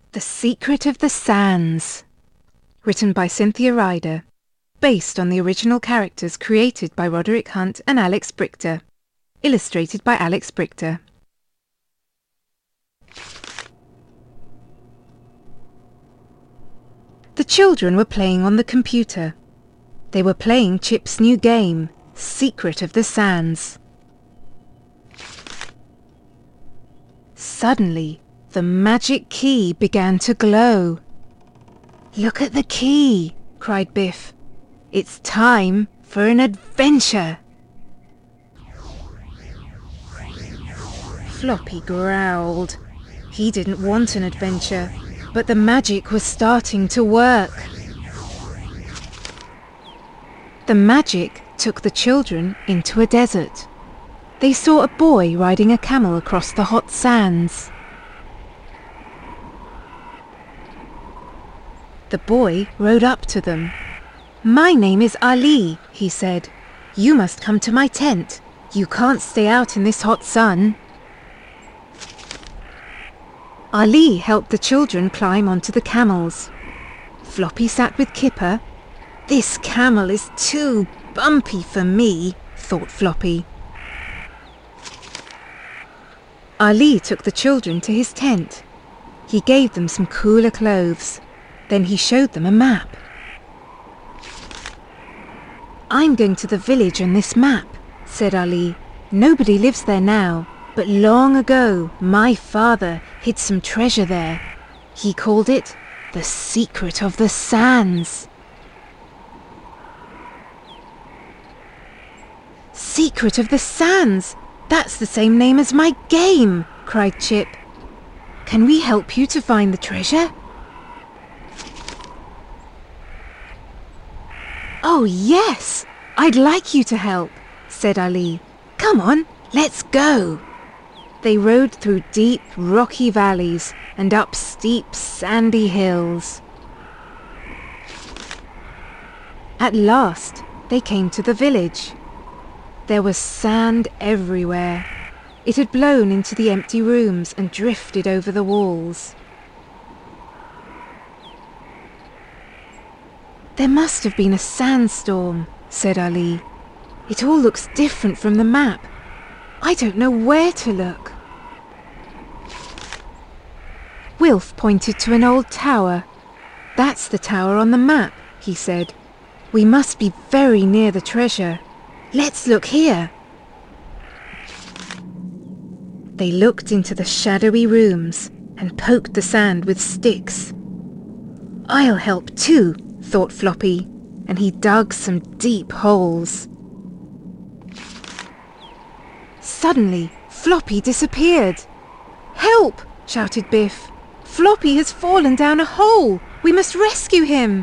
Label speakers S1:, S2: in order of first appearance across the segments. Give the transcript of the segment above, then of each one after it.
S1: The Secret of the Sands. Written by Cynthia Ryder. Based on the original characters created by Roderick Hunt and Alex Brychta. Illustrated by Alex Brychta. The children were playing on the computer. They were playing Chip's new game, Secret of the Sands. Suddenly, the magic key began to glow. "Look at the key!" cried Biff. "It's time for an adventure!" Floppy growled. He didn't want an adventure, but the magic was starting to work. The magic took the children into a desert. They saw a boy riding a camel across the hot sands. The boy rode up to them. "My name is Ali," he said. "You must come to my tent. You can't stay out in this hot sun." Ali helped the children climb onto the camels. Floppy sat with Kipper. "This camel is too bumpy for me," thought Floppy. Ali took the children to his tent. He gave them some cooler clothes. Then he showed them a map. "I'm going to the village on this map," said Ali. "Nobody lives there now, but long ago my father hid some treasure there. He called it the Secret of the Sands." "Secret of the Sands! That's the same name as my game!" cried Chip. "Can we help you to find the treasure?" "Oh yes, I'd like you to help," said Ali. "Come on, let's go." They rode through deep, rocky valleys and up steep, sandy hills. At last, they came to the village. There was sand everywhere. It had blown into the empty rooms and drifted over the walls. "There must have been a sandstorm," said Ali. "It all looks different from the map. I don't know where to look." Wilf pointed to an old tower. "That's the tower on the map," he said. "We must be very near the treasure. Let's look here." They looked into the shadowy rooms and poked the sand with sticks. "I'll help too," thought Floppy, and he dug some deep holes. Suddenly, Floppy disappeared. "Help!" shouted Biff. "Floppy has fallen down a hole! We must rescue him!"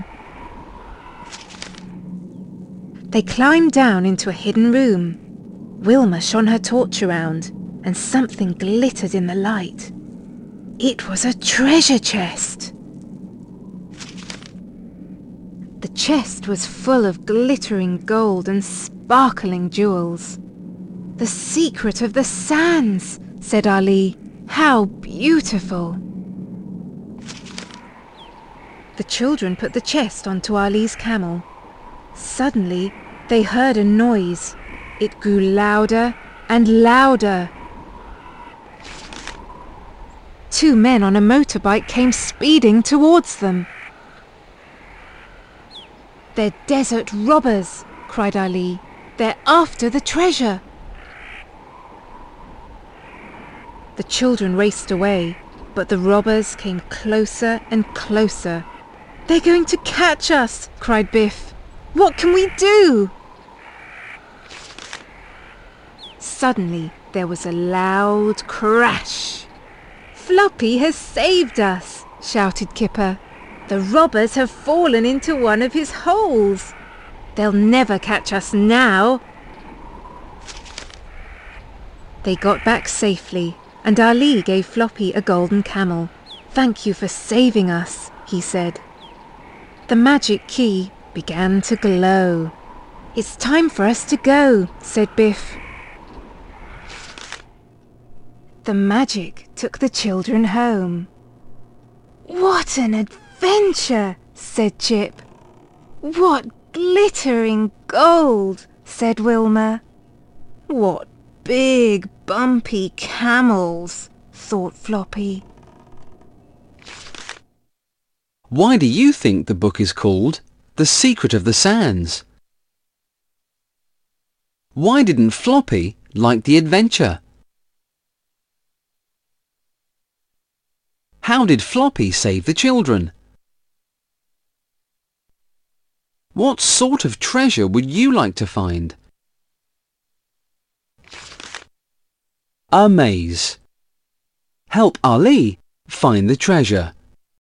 S1: They climbed down into a hidden room. Wilma shone her torch around, and something glittered in the light. It was a treasure chest! The chest was full of glittering gold and sparkling jewels. "The Secret of the Sands," said Ali. "How beautiful!" The children put the chest onto Ali's camel. Suddenly, they heard a noise. It grew louder and louder. 2 men on a motorbike came speeding towards them. "They're desert robbers," cried Ali. "They're after the treasure." The children raced away, but the robbers came closer and closer. "They're going to catch us!" cried Biff. "What can we do?" Suddenly, there was a loud crash. "Floppy has saved us!" shouted Kipper. "The robbers have fallen into one of his holes. They'll never catch us now." They got back safely, and Ali gave Floppy a golden camel. "Thank you for saving us," he said. The magic key began to glow. "It's time for us to go," said Biff. The magic took the children home. What an adventure, said Chip. What glittering gold, said Wilma. What big bumpy camels, thought Floppy.
S2: Why do you think the book is called The Secret of the Sands? Why didn't Floppy like the adventure? How did Floppy save the children? What sort of treasure would you like to find? A maze. Help Ali find the treasure.